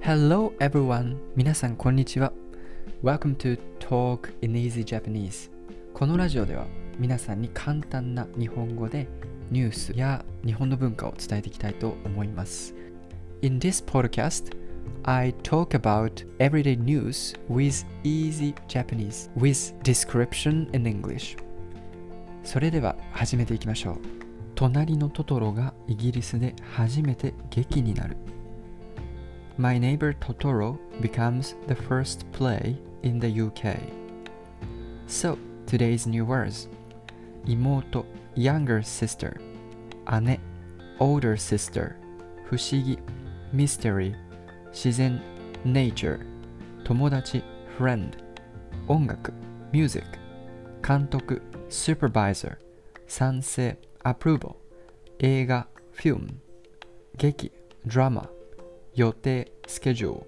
Hello everyone! 皆さんこんにちは。Welcome to Talk in Easy Japanese. このラジオでは皆さんに簡単な日本語でニュースや日本の文化を伝えていきたいと思います。In this podcast, I talk about everyday news with easy Japanese with description in English. それでは始めていきましょう。隣のトトロがイギリスで初めて劇になる。My Neighbor Totoro becomes the first play in the UK. So, today's new words. 妹 younger sister 姉 older sister 不思議 mystery 自然 nature 友達 friend 音楽 music 監督 supervisor 賛成 approval 映画 film 劇 drama 予定 schedule.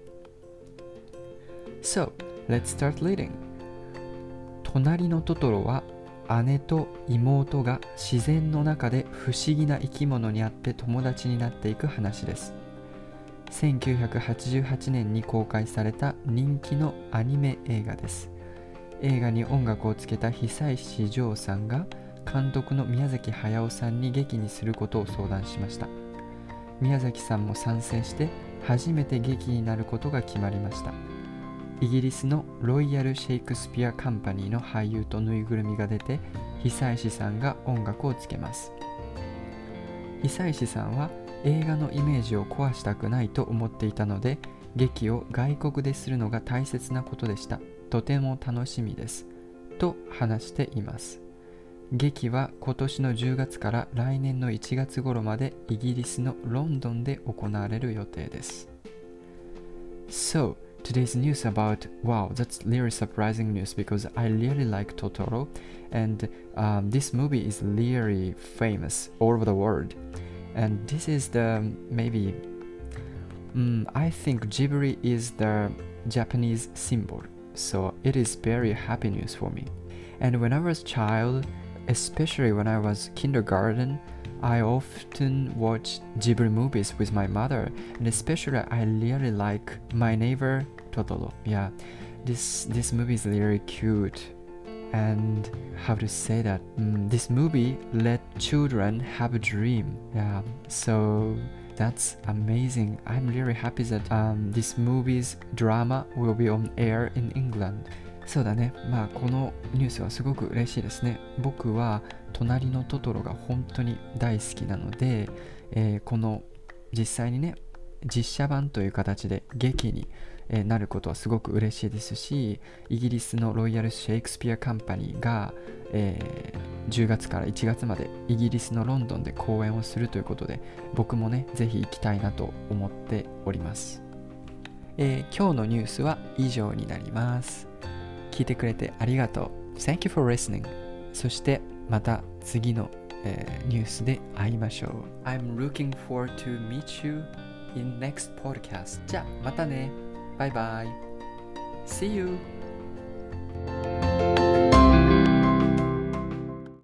So, let's start reading. 隣のトトロは姉と妹が自然の中で不思議な生き物に会って友達になっていく話です。1988年に公開された人気のアニメ映画です。映画に音楽をつけた久石譲さんが監督の宮崎駿さんに劇にすることを相談しました。宮崎さんも賛成して初めて劇になることが決まりました。イギリスのロイヤル・シェイクスピア・カンパニーの俳優とぬいぐるみが出て、久石さんが音楽をつけます。久石さんは映画のイメージを壊したくないと思っていたので、劇を外国でするのが大切なことでした。とても楽しみです。と話しています。劇は今年の10月から来年の1月頃までイギリスのロンドンで行われる予定です。So, today's news about, wow, that's really surprising news because I really like Totoro and this movie is really famous all over the world. And this is the, maybe, I think Ghibli is the Japanese symbol. So it is very happy news for me. And when I was a child,especially when I was kindergarten, I often watched Ghibli movies with my mother, and especially I really like My Neighbor Totoro. Yeah, this movie is really cute, and how to say that? This movie let children have a dream. Yeah, so that's amazing. I'm really happy that this movie's drama will be on air in England.そうだね。このニュースはすごく嬉しいですね。僕は隣のトトロが本当に大好きなので、この実際にね、実写版という形で劇になることはすごく嬉しいですし、イギリスのロイヤル・シェイクスピア・カンパニーが、10月から1月までイギリスのロンドンで公演をするということで、僕もね、ぜひ行きたいなと思っております。今日のニュースは以上になります。聞いてくれてありがとう。Thank you for listening. そしてまた次の、ニュースで会いましょう。I'm looking forward to meet you in next podcast. じゃあまたね。バイバイ。See you!